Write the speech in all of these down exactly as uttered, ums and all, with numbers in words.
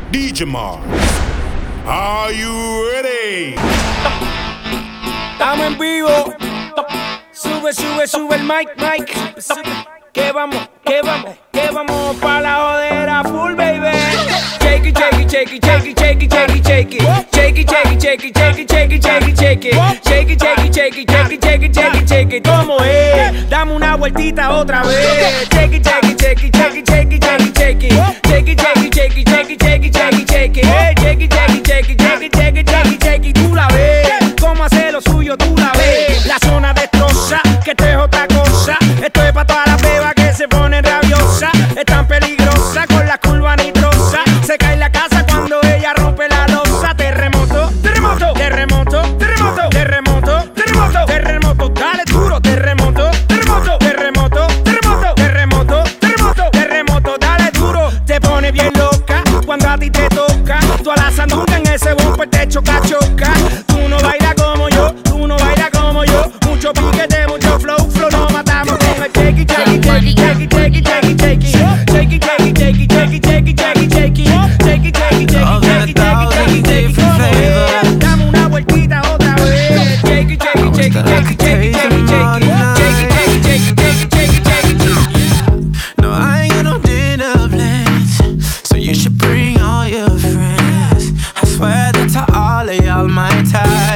D J Mars, are you ready? Estamos en vivo. Sube, sube, sube el mic, mic. Que vamos, que vamos, que vamos pa' la jodera full, baby. Shake it, shake it, shake it, shake it, shake it, shake it, shake it. Shake it, shake it, shake it, shake it, shake it, shake it, shake it. Shake it, shake it, shake it, shake it, shake it, shake it, shake it. ¿Cómo es? Dame una vueltita otra vez. Shake it, shake it, shake it, shake it, shake it, shake it, shake it. Shake it, shake it, shake it, shake it, shake it, shake it, shake it. Shake it, shake it, shake it, shake it, shake it, shake it, shake it. Tú la ves. Cómo hace lo suyo, tú la ves. La zona destroza, que esto es otra cosa. Esto es pa' todas las bebas que se ponen rabiosas. Es tan peligrosa con la curva nitrosa. Se cae la casa cuando ella rompe la losa. Terremoto, terremoto, terremoto, terremoto, terremoto, terremoto, terremoto, dale duro, terremoto, terremoto, terremoto, terremoto, terremoto, terremoto, terremoto, dale duro. Te pone bien loca cuando a ti te toca. Tú a la sandunga en ese bumper te choca, choca. Tú no bailas como yo, tú no bailas como yo. Mucho piquete, mucho flow, flow, nos matamos con el shake it, shake it, shake it, shake it, shake it, shake it, shake it, shake it, shake it, shake it, shake it, shake it, shake it, shake it, shake it, shake it, shake it, shake it, shake it, shake it. Dame una vueltita otra vez. Shake it, shake it, shake it, shake it, shake it, shake it, shake it, shake it, shake it, shake it, shake it, shake it. No, I ain't got no dinner plans, so you should bring all your friends. I swear that to all of y'all my type.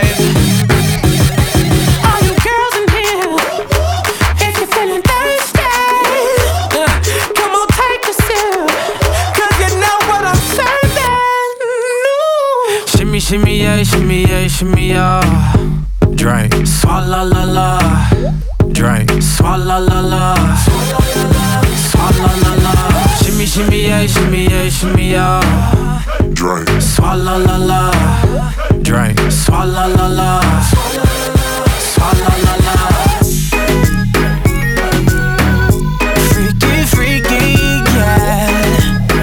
Shimmy, yeah, shimmy, yeah, shimmy, yeah. Drink, swalla la la. Drink, swalla la la. Swalla la la. Shimmy, shimmy, yeah, shimmy, yeah, shimmy, yeah. Drink, swalla la la. Drink, swalla la la. Swalla la la. Freaky, freaky, yeah.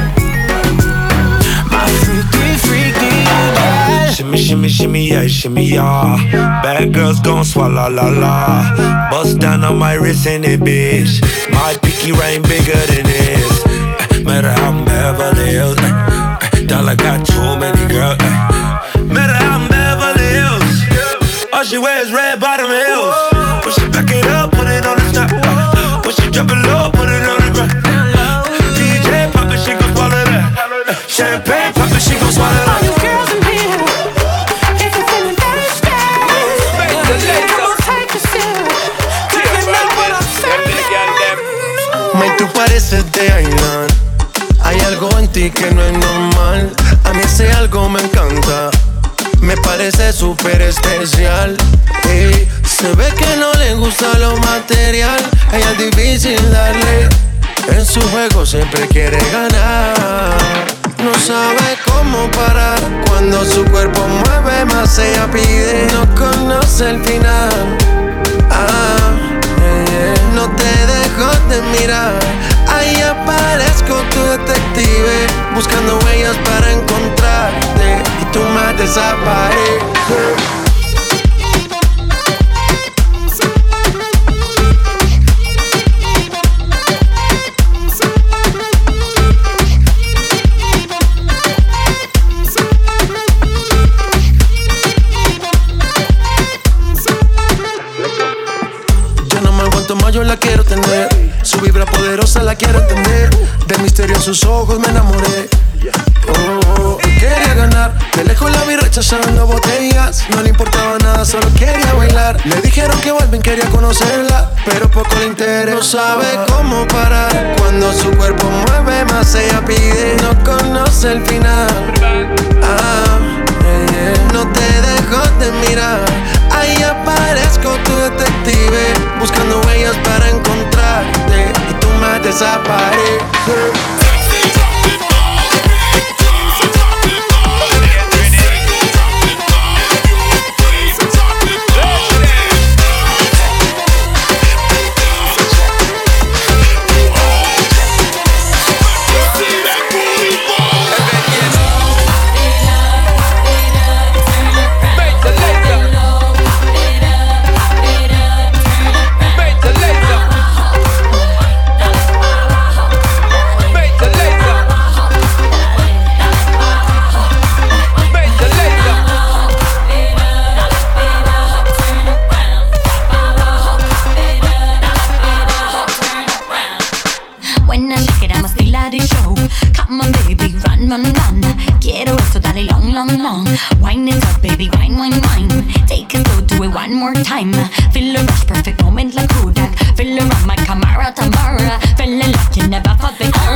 My freaky, freaky, yeah. Shimmy, shimmy, shimmy, yeah, shimmy, yeah. Bad girls gon' swallow la la. Bust down on my wrist in it, bitch. My pinky ring bigger than this. Uh, matter how I'm Beverly Hills. Uh, uh, dollar got too many girls. Uh, matter how I'm Beverly Hills. All she wears red bottom heels. When she back it up, put it on the top. Uh, when she drop it low, put it on the ground. Uh, D J pop it, she gon' swallow that. Uh, champagne pop it, she gon' swallow that. All you girls in here, if you're feeling thirsty, come on, take a sip. Do you know what I'm saying? May, tú pareces de Ailan. Hay algo en ti que no es normal. A mí ese algo me encanta. Me parece súper especial. Ey, se ve que no le gusta lo material. Ella es difícil darle. En su juego siempre quiere ganar. No sabe cómo parar. Cuando su cuerpo mueve más ella pide. No conoce el final. Ah, yeah, yeah. No te dejo de mirar. Ahí aparezco tu detective, buscando huellas para encontrarte. Y tú me desapareces. Yo la quiero tener, su vibra poderosa la quiero entender. Del misterio en sus ojos me enamoré. Oh, oh, quería ganar, de lejos la vi rechazando botellas. No le importaba nada, solo quería bailar. Le dijeron que Balvin quería conocerla, pero poco le interesa. No sabe cómo parar. Cuando su cuerpo mueve más ella pide. No conoce el final. Ah, yeah, yeah. No te dejo de mirar. Ahí aparezco tu detective, buscando huellas para encontrarte. Y tú me desapareces. Make run, run. Quiero eso, dale long, long, long. Wine it up, baby, wine, wine, wine. Take it slow, do it one more time. Feel the rush, perfect moment like Kodak. Feel around my Camara, Tamara. Feel like you never fought before.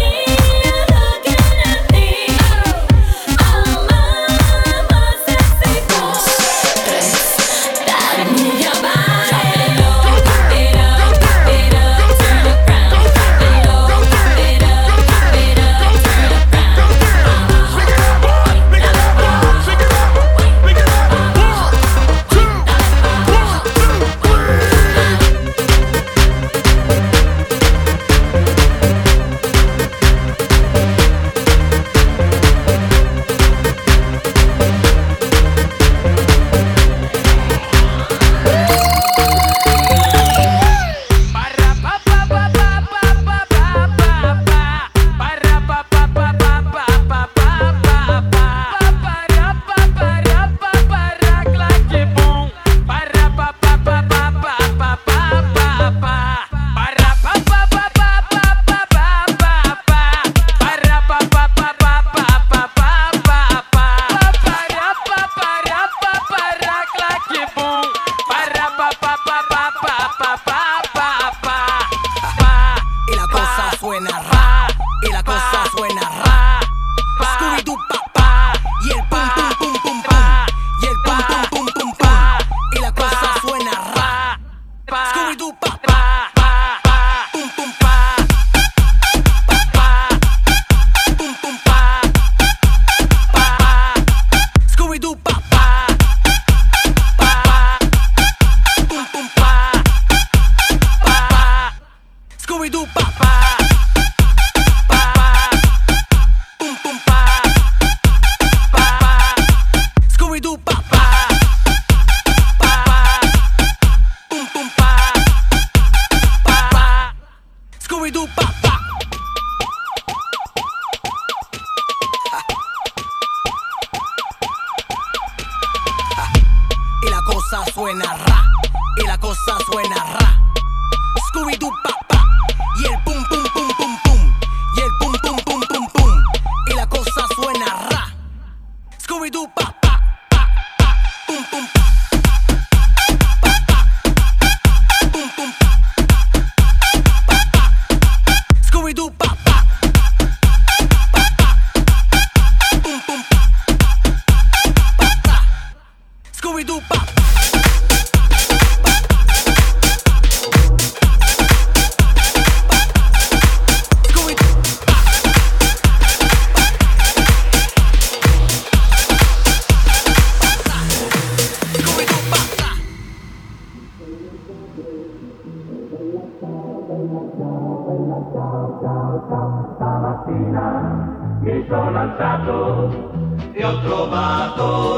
Mi sono alzato e ho trovato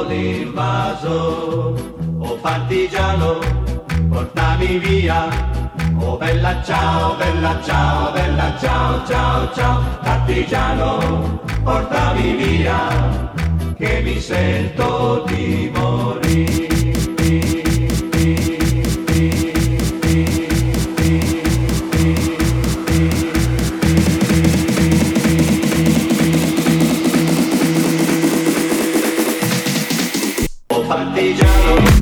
l'invaso. Oh partigiano, portami via. Oh bella ciao, bella ciao, bella ciao, ciao, ciao. Partigiano, portami via, che mi sento di morire. Partigiano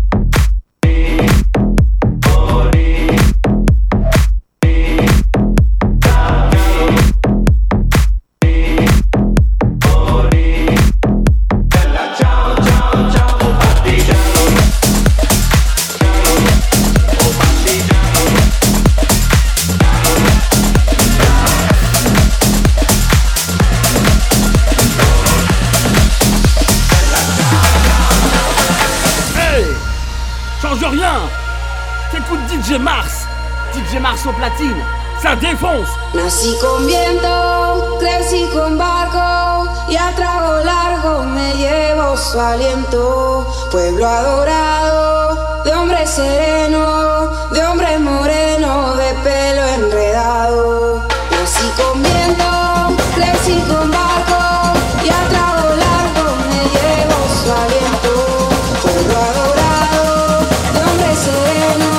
D J Mars, D J Mars au platine, ça défonce. Nací con viento, crecí con barco y a trago largo me llevo su aliento. Pueblo adorado, de hombre sereno, de hombre moreno, de pelo enredado. Nací con viento, crecí con barco y a trago largo me llevo su aliento. Pueblo adorado, de hombre sereno.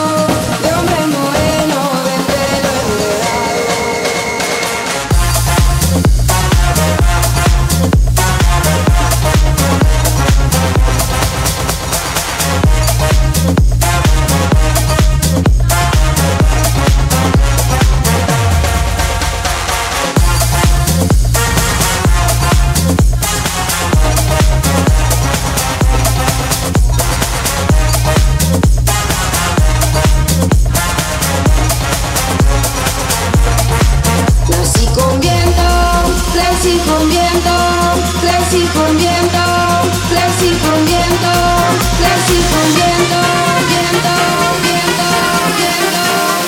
con viento, viento, viento, viento,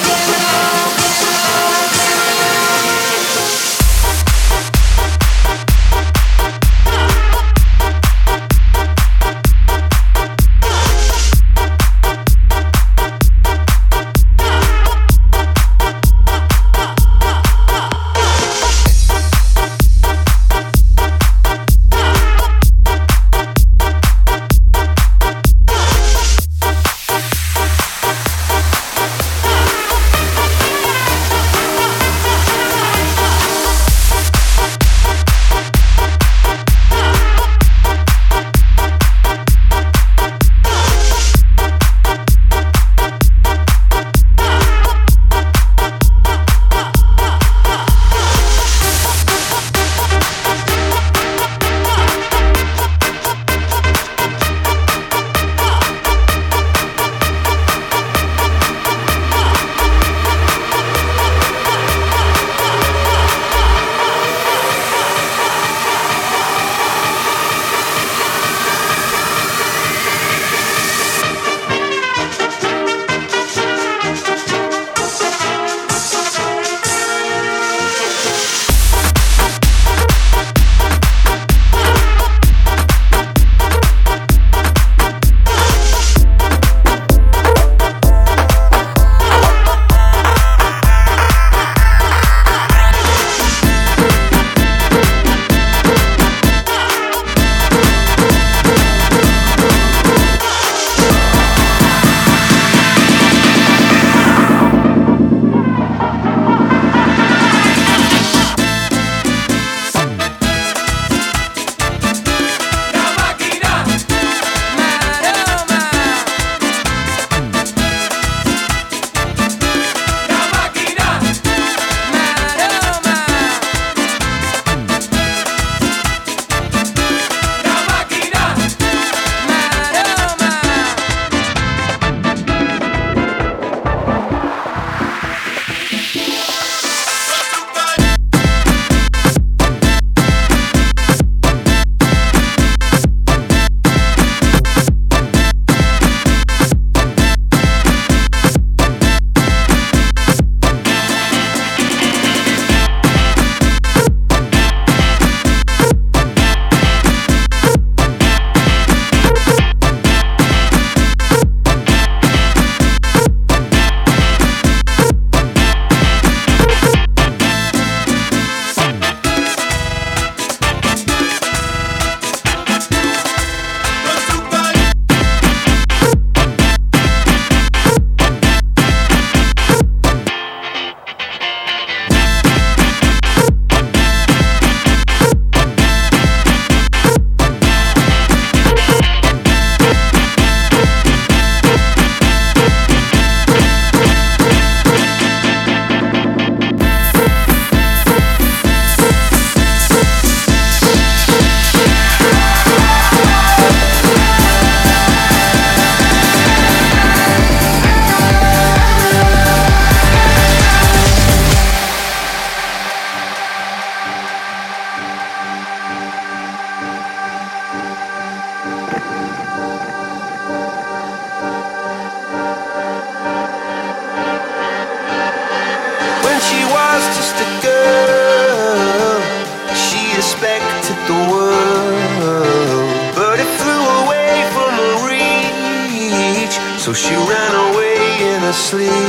So she ran away in her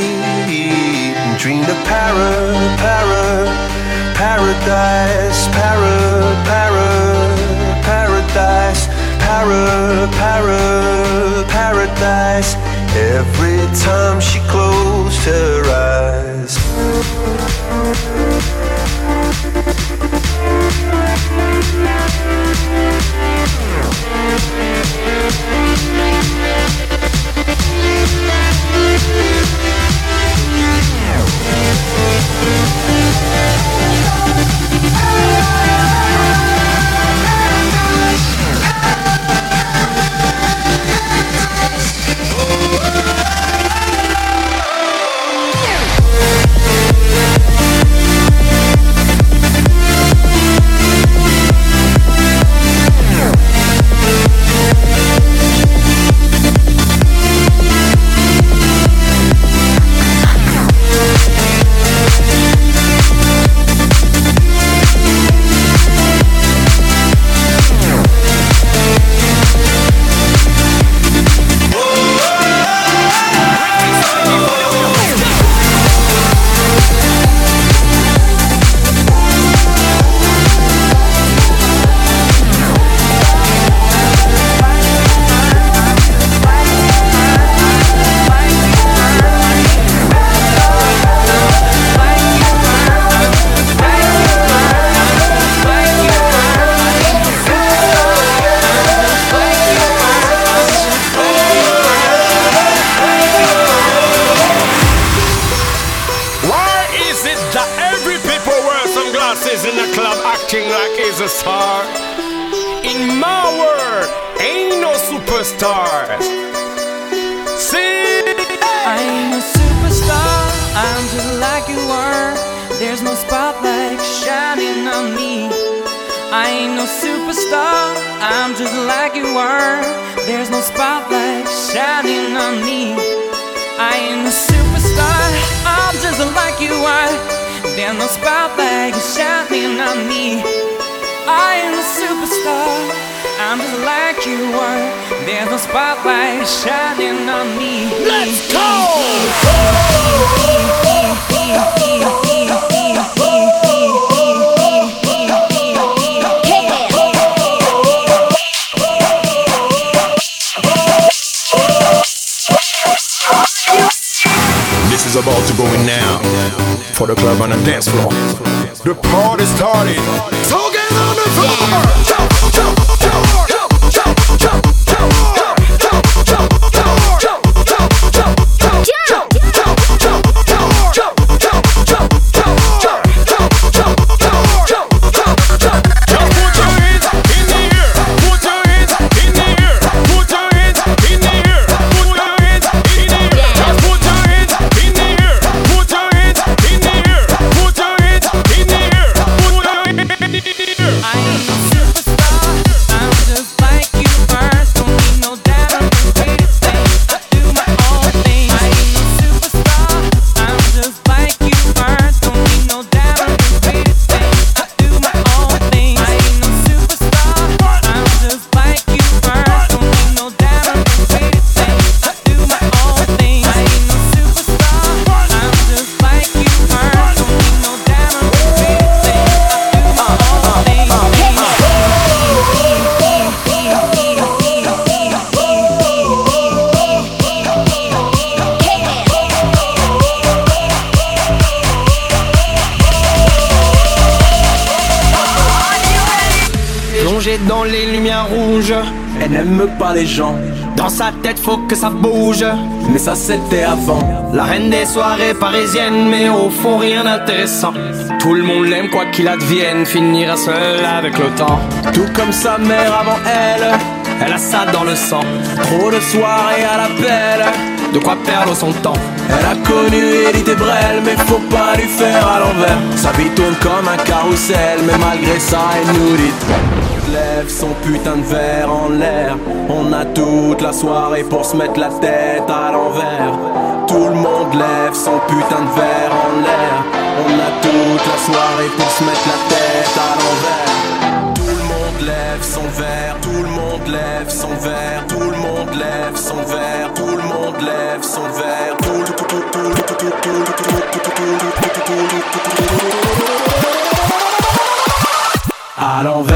sleep and dreamed of para, para, paradise, para, para, paradise, para, para, paradise. Every time she closed her eyes. acting like he's a star. In my world, ain't no superstars. See? I ain't a superstar, I'm just like you are. There's no spotlight shining on me. I ain't no superstar, I'm just like you are. There's no spotlight shining on me. I ain't a superstar, I'm just like you are. There's no spotlight shining on me. I ain't a superstar, I'm just like you are. There's no spotlight shining on me. Let's go! This is about to go in now for the club on the dance floor. The party started. So get on the floor. Jump, jump, jump, jump, jump, jump, jump, jump, jump, jump, jump, jump, jump. Dans les lumières rouges, elle n'aime pas les gens. Dans sa tête faut que ça bouge, mais ça c'était avant. La reine des soirées parisiennes, mais au fond rien d'intéressant. Tout le monde l'aime quoi qu'il advienne, finira seule avec le temps. Tout comme sa mère avant elle, elle a ça dans le sang. Trop de soirées à l'appel, de quoi perdre son temps. Elle a connu Edith et Brel, mais faut pas lui faire à l'envers. Sa vie tourne comme un carrousel, mais malgré ça elle nous dit: lève son putain de verre en l'air. On a toute la soirée pour se mettre la tête à l'envers. Tout le monde lève son putain de verre en l'air. On a toute la soirée pour se mettre la tête à l'envers. Tout le monde lève son verre. Tout le monde lève son verre. Tout le monde lève son verre. Tout le monde lève son verre. Tout, tout, tout, tout, tout, tout, tout, tout, à l'envers.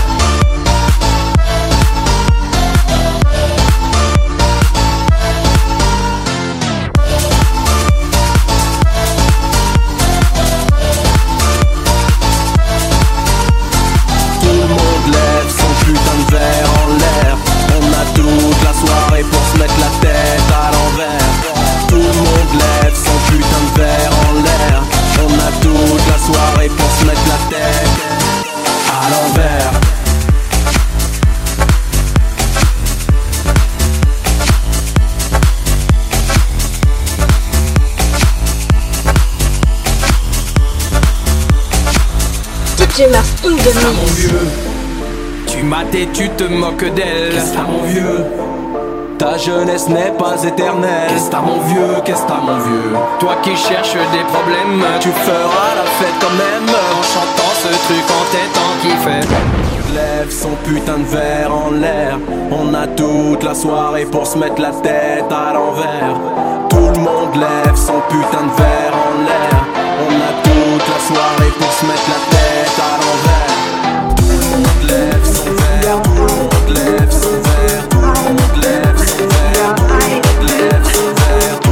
Qu'est-ce mon vieux? Tu mates et tu te moques d'elle. Qu'est-ce t'as mon vieux? Ta jeunesse n'est pas éternelle. Qu'est-ce t'as mon vieux? Qu'est-ce t'as mon vieux? Toi qui cherches des problèmes, tu feras la fête quand même, en chantant ce truc en tête en kiffet. Lève son putain de verre en l'air. On a toute la soirée pour se mettre la tête à l'envers. Tout le monde lève son putain de verre en l'air. On a toute la soirée pour se mettre la tête à l'envers. Tout le monde lève son verre. Tout le monde lève son verre. Tout le monde lève son verre. Tout le monde lève son verre.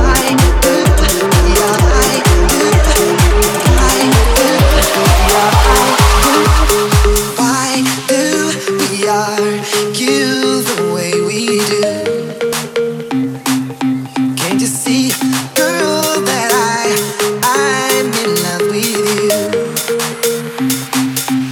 Why do we argue the way we do? Can't you see, girl, that I, I'm in love with you?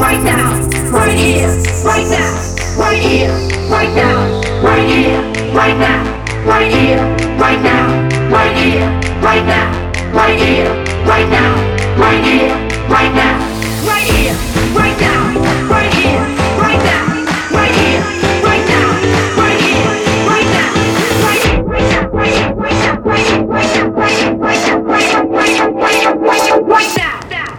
right now, right here, right now, right here, right now, right here, right now, right here, right now, right here, right now, right here, right now, right here, right now, right here, right now, right here, right now, right here, right now, right here, right now, right here, right now, right here, right now, right here, right now, right here, right now, right here, right now, right here, right now, right now.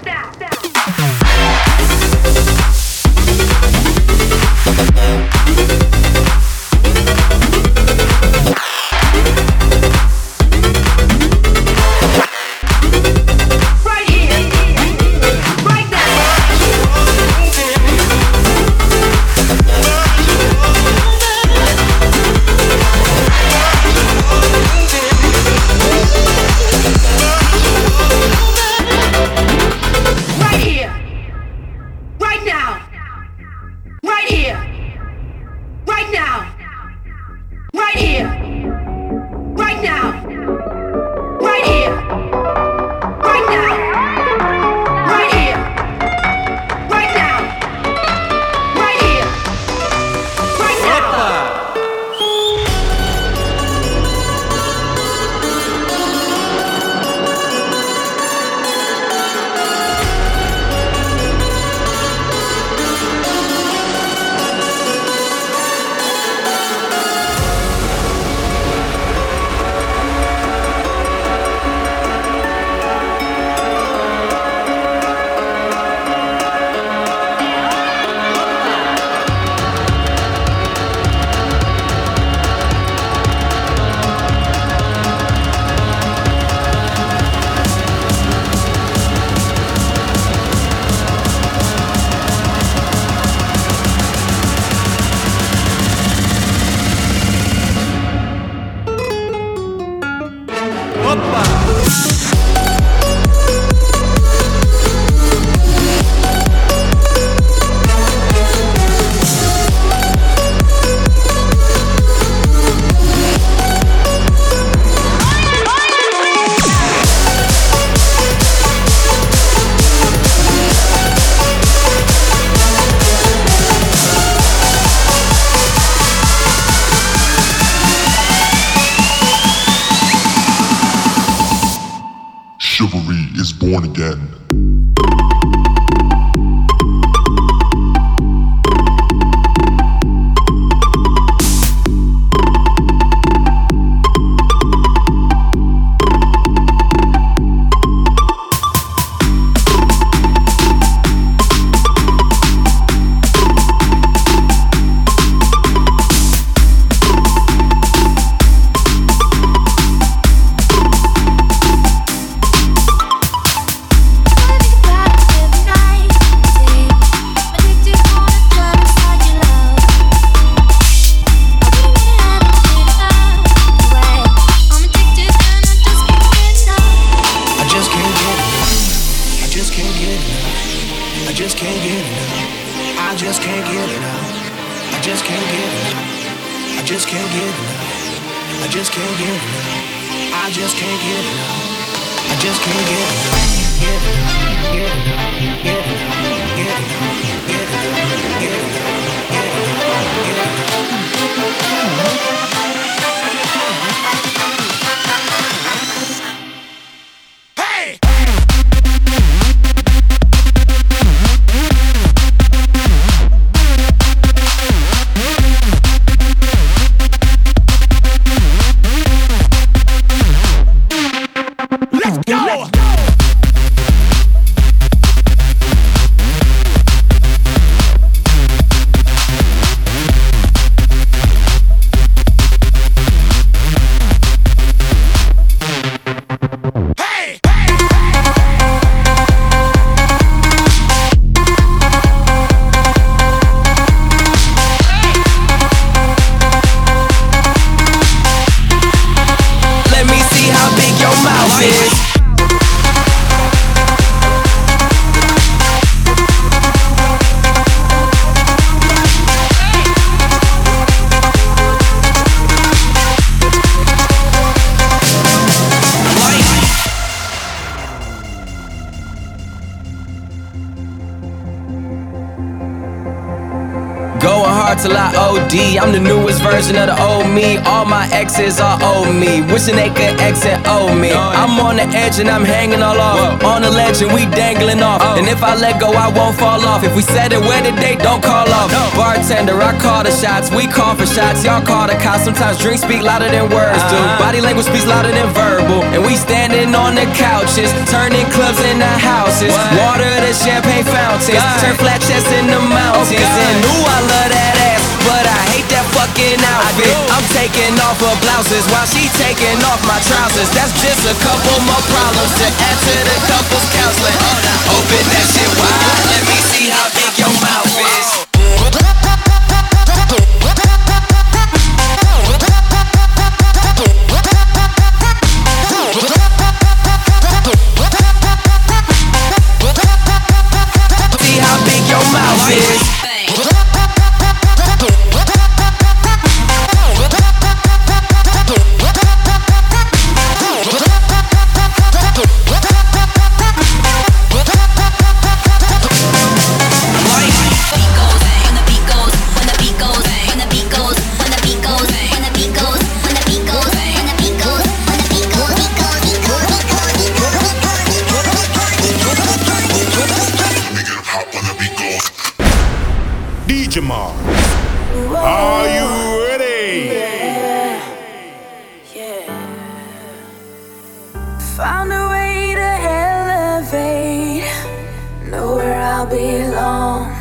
Chivalry is born again. Let's go! hard till I O D. I'm the newest version of the old me. All my exes are old me, wishing they could exit old me. I'm on the edge and I'm hanging all off. On the ledge and we dangling off. And if I let go, I won't fall off. If we said it, where the date, don't call off. Bartender, I call the shots. We call for shots, y'all call the cops. Sometimes drinks speak louder than words do. Body language speaks louder than verbal. And we standing on the couches, turning clubs into houses. Water to champagne fountains, turn flat chests into mountains. And ooh, I love that ass, but I hate that fucking outfit. I'm taking off her blouses while she taking off my trousers. That's just a couple more problems to add to the couple's counseling. Open that shit wide, let me see how big your mouth is. See how big your mouth is. Jamal, are you ready? Yeah, yeah. Found a way to elevate, know where I'll belong.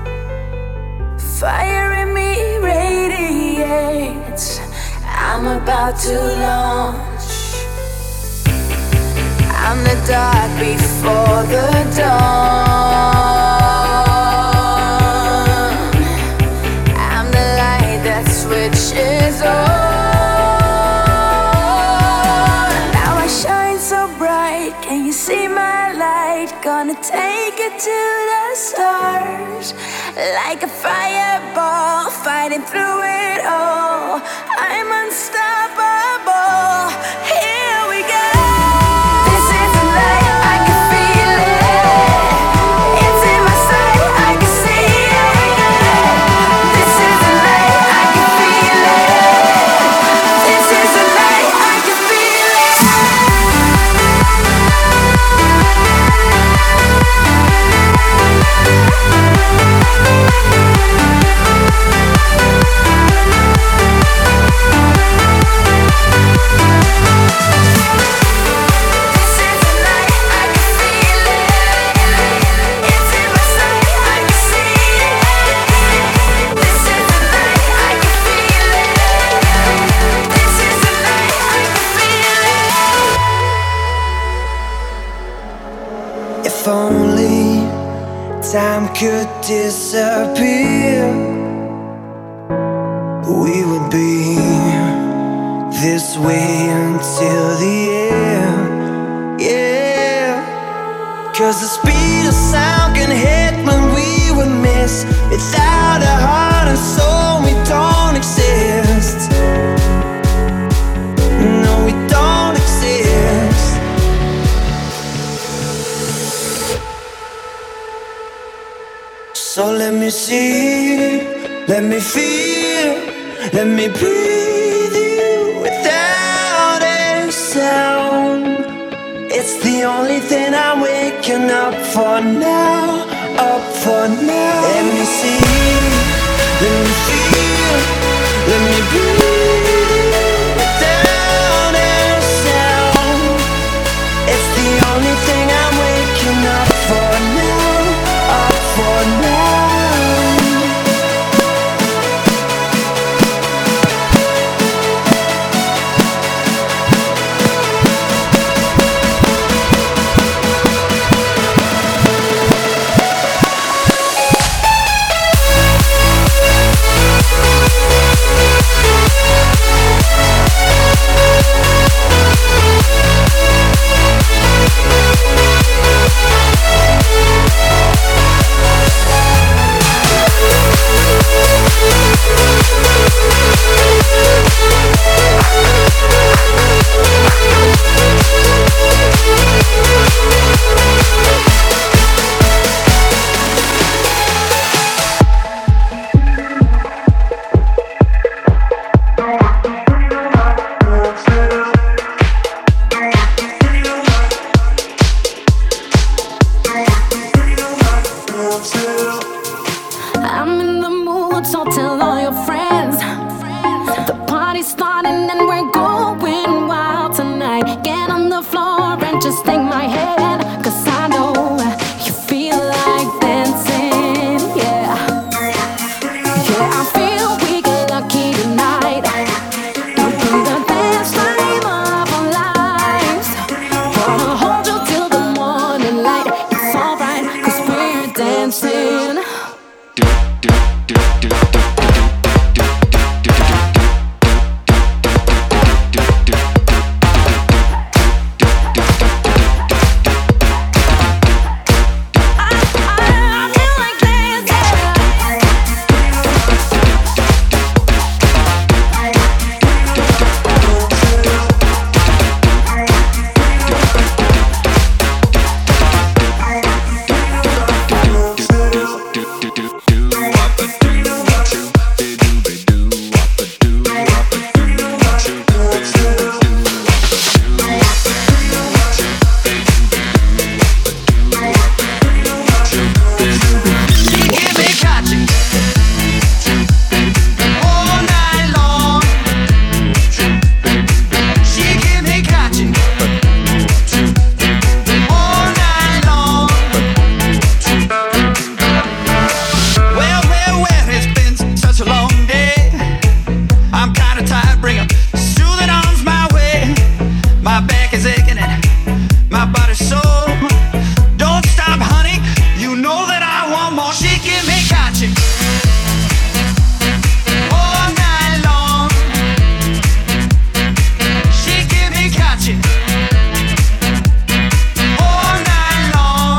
Fire in me radiates, I'm about to launch. I'm the dark before the dawn. Switches on. Now I shine so bright. Can you see my light? Gonna take it to the stars. Like a fireball, fighting through it all. I'm unstoppable. Here we go. This is the night, I can feel it. It's in my sight, I can see it. This is the night, I can feel it. This is the night, I can feel it. If only time could disappear, we would be this way until the end. Yeah, cause the speed of sound can hit when we would miss. Without a heart and soul, we don't exist. No, we don't exist. So let me see, let me feel, let me breathe you without a sound. It's the only thing I'm waking up for now, up for now. Let me see, let me feel, let me breathe without a sound. It's the only thing I'm waking up for now, up for now. We'll be right back. so. Don't stop, honey. You know that I want more. She give me gotcha all night long. She give me gotcha all night long.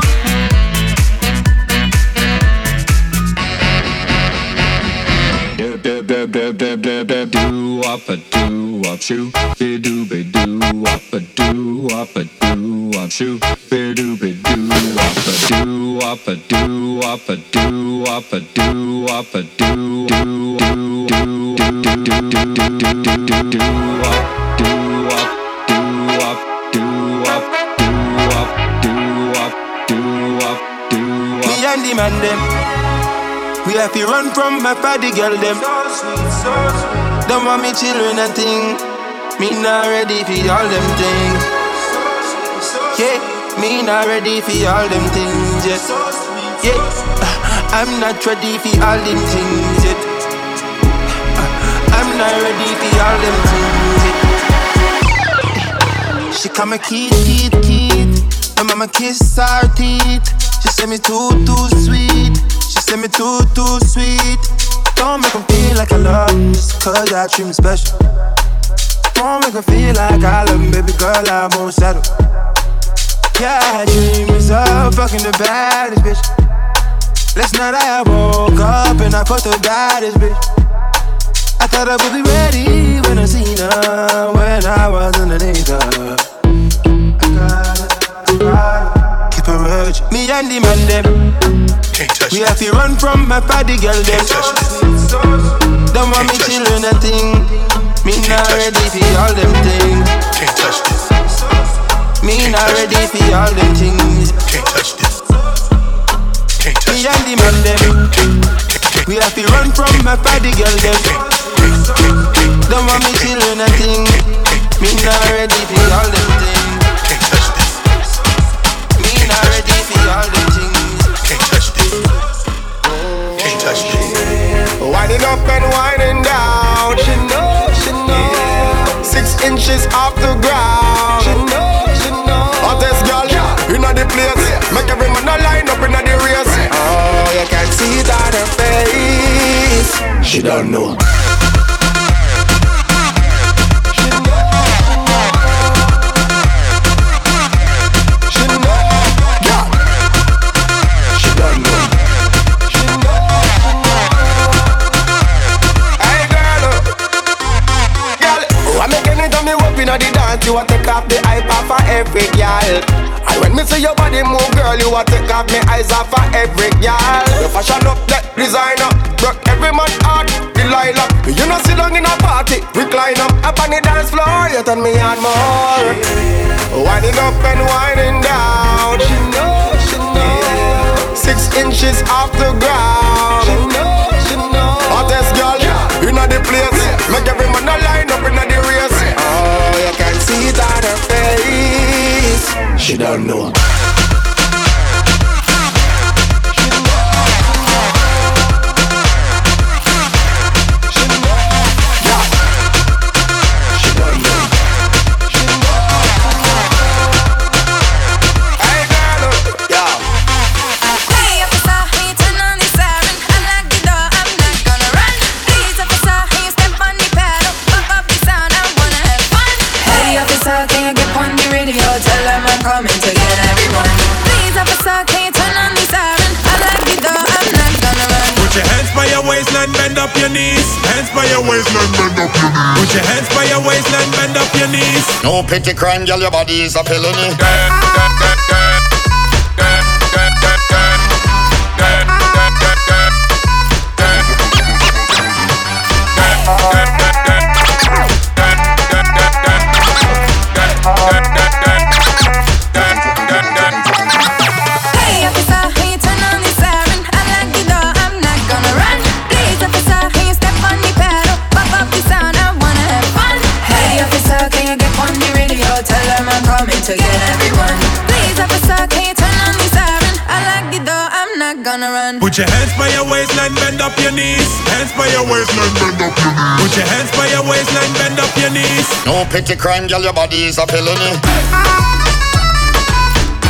Do do do do do do do do up a do up shoo be do be do up a do up a do up shoo be do be do up a do up a do up a do up a do up a do do do do do do do do do do do up do up do up do up do up do up do up do up. Me and the man them, we have to run from my party girl them. Don't want me children a thing. Me not ready for all them things. Yeah, me not ready for all them things yet. Yeah, I'm not ready for all them things yet. I'm not ready for all them things yet. She call me Keith, Keith, Keith. My mama kiss her teeth. She say me too, too sweet. She say me too, too sweet. Don't make them feel like I love them just cause I treat me special. Don't make them feel like I love them, baby girl, I won't settle. Yeah, I dream myself fucking the baddest bitch. Last night I woke up and I fucked the baddest bitch. I thought I would be ready when I seen her, when I was underneath her. I got it, I got it. Keep a virgin. Me and the man them, we have to run from my party girl them. Don't want me children a thing. Me not ready for all them things. Can't touch this. Me not ready for all them things. Can't touch this. Can't touch me and the man them, we have to run from my party girl them. Don't want me children a thing. Me not ready for all them things. Can't touch this. Me not ready for all them things. Can't touch this. Can't touch this. Winding up and winding down. She know, she know. Six inches off the ground. She know, she know. Hottest girl inna the place. Make every man a line up inna the race. Oh, you can see it on her face. She don't know. Inna the dance, you a take off the hype off of every girl. And when me see your body move, girl, you a take off me eyes off of every girl. You fashion up that designer, broke every man heart, Delilah. You know sit down in a party, recline up up on the dance floor. You turn me on more, winding up and winding down. She know, she know. Six inches off the ground. She know, she know. Hottest girl inna the place, make every man a line up inna the race. Oh, you can see it on her face. She don't know. Coming to get everyone. Please, officer, can you turn on the siren? I like the door, I'm not gonna run. Put your hands by your waistline, bend up your knees. Hands by your waistline, bend up your knees. Put your hands by your waistline, bend up your knees. No petty crime, girl, your body is a felony. To get everyone. Please, officer, can you turn on the siren? I like the door, I'm not gonna run. Put your hands by your waistline, bend up your knees. Hands by your waistline, bend up your knees. Put your hands by your waistline, bend up your knees. No petty crime, girl, your body is a felony.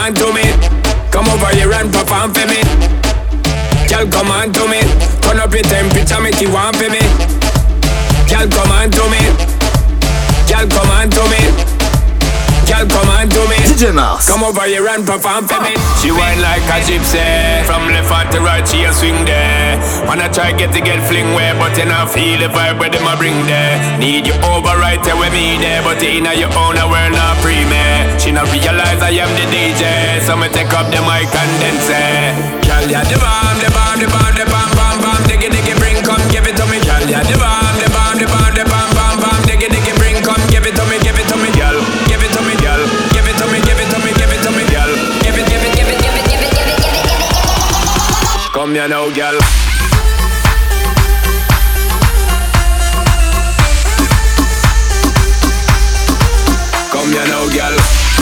on to me. Come over here and perform for me. Girl, come on to me. Turn up your temperature, make you want for me. Girl, come on to me. Girl, come on to me. Girl, come on to me. D J Mars. Come over here and perform for me. She whine like a gypsy. From left hand to right, she a swing there. Wanna try get to get fling where, but you not feel the vibe where them a bring there. Need you over right there with me there, but in your own a world not free me. She not realize I am the D J, so me take up the mic and then say, girl, ya the bomb, the bomb, the bomb, the bomb, bomb, bomb, diggy, diggy, bring, come give it to me, girl, ya the bomb, the bomb, the bomb, the bomb, bomb, bomb, diggy, diggy, bring, come give it to me, give it to me, girl, give it to me, girl, give it to me, give it to me, give it to me, girl, give it, give it, give it, give it, give it, give it, give it, give it. Come here now, girl. Come here now, girl.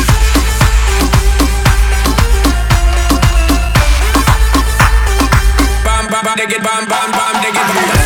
Bam, bam, bam, dig it, bam, bam, bam, dig it, bam.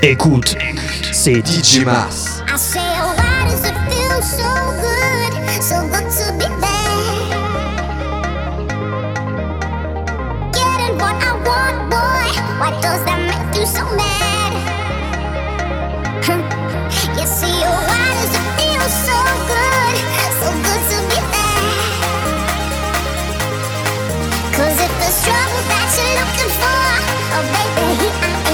Écoute, c'est D J Mars. I say, oh, why does it feel so good, so good to be there? Getting what I want, boy, why does that make you so mad? You see, oh, why does it feel so good, so good to be there? 'Cause if there's trouble that you're looking for, oh baby, here I am.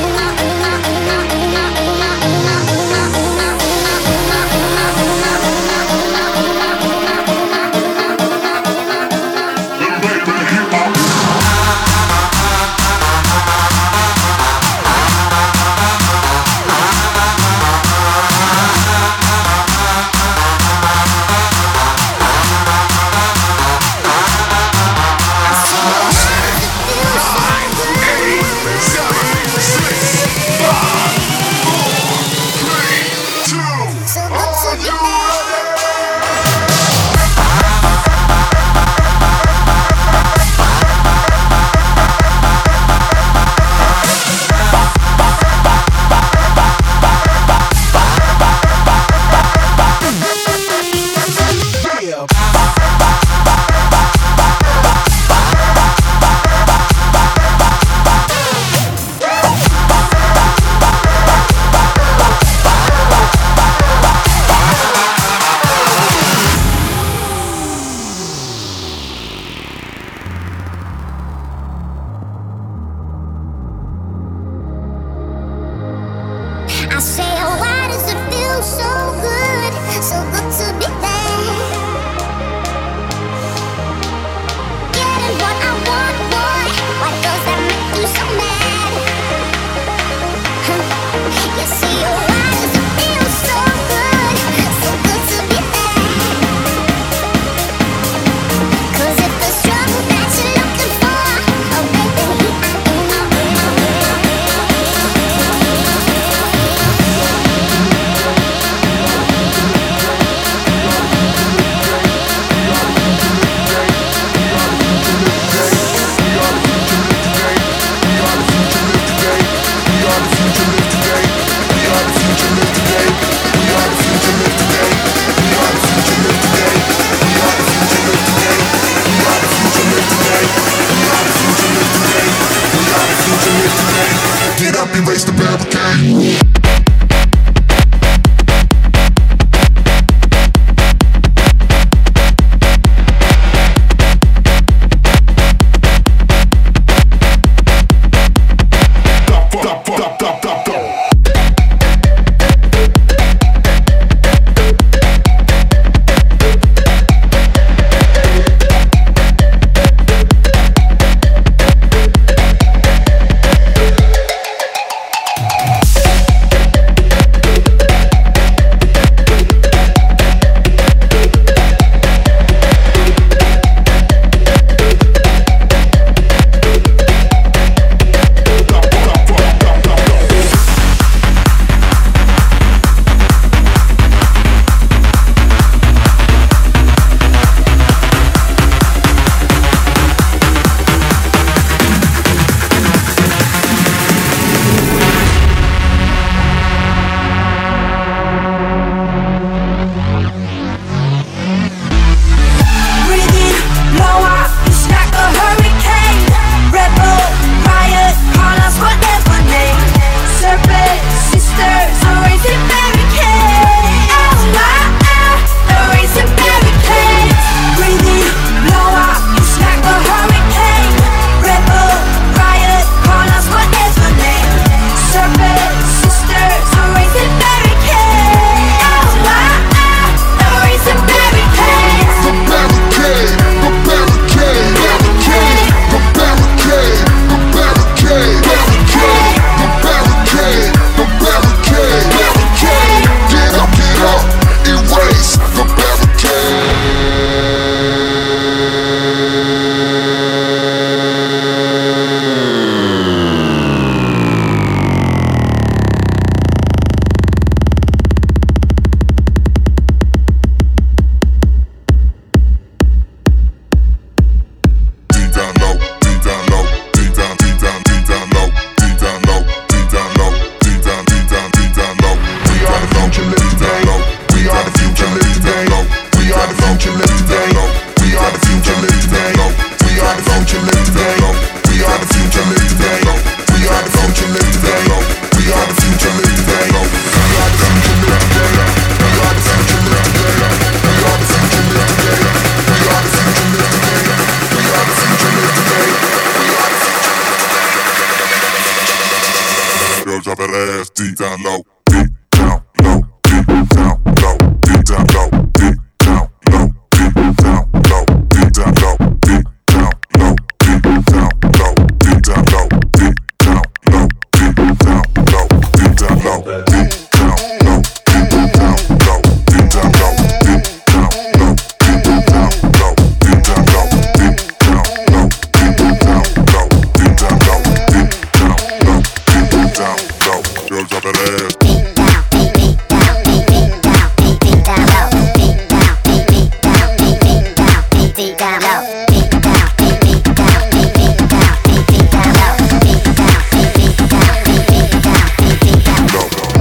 deep down low, deep down, deep deep down, deep deep down, deep deep down low, deep down, deep deep down, deep deep down, deep deep down low.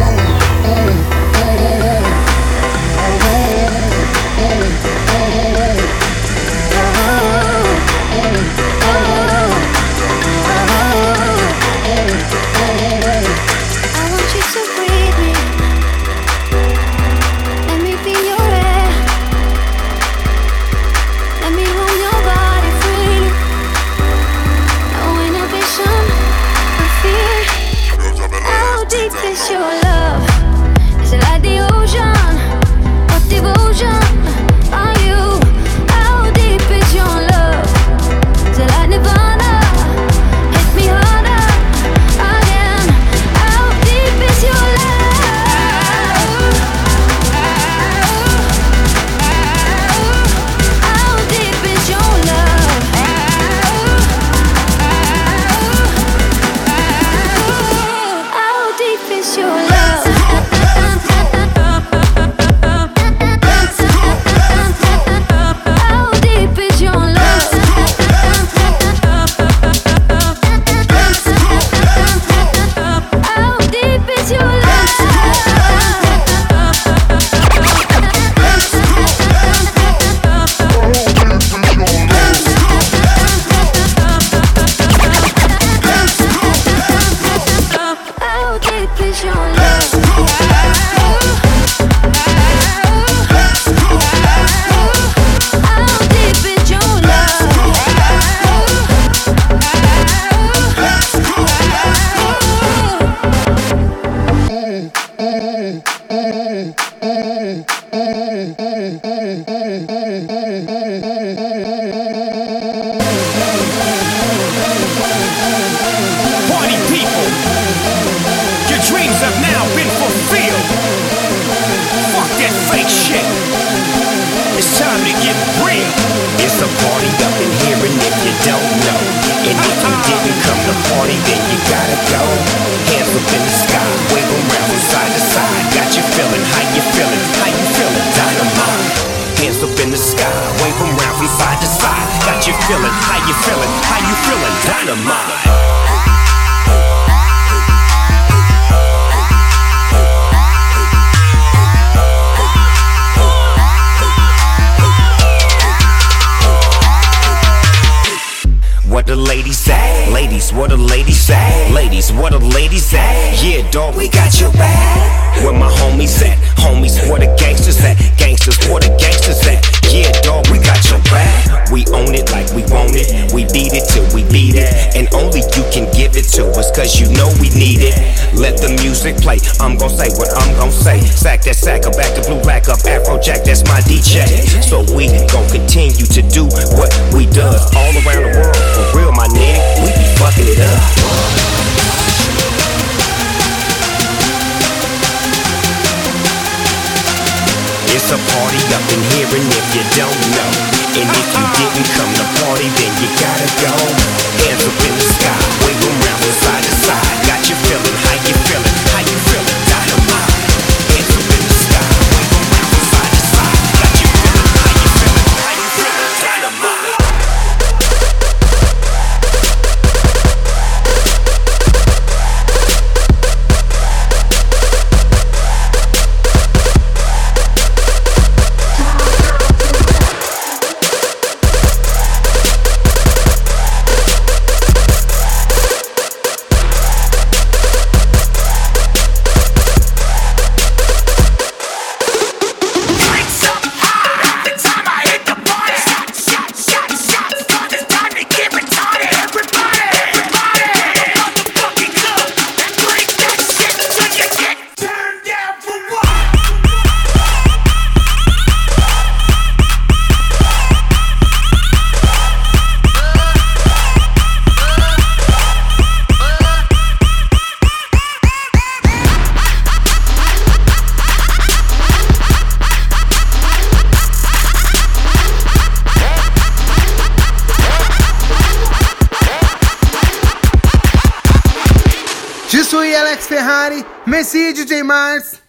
I'm gon' say what I'm gon' say. Sack that sack up, back to blue, rack up, Afrojack, that's my D J. So we gon' continue to do what we does all around the world. For real, my nigga, we be fucking it up. It's a party up in here, and if you don't know, and if you didn't come to party, then you gotta go. Hands up in the sky, wave 'em round from side to side. Got you feeling, how you feeling, how you feeling, dynamite. Hands up in the sky, wave 'em round from side to side. Got you feeling, how you feeling, how you feeling, dynamite. Je suis Alex Ferrari, merci D J Mars.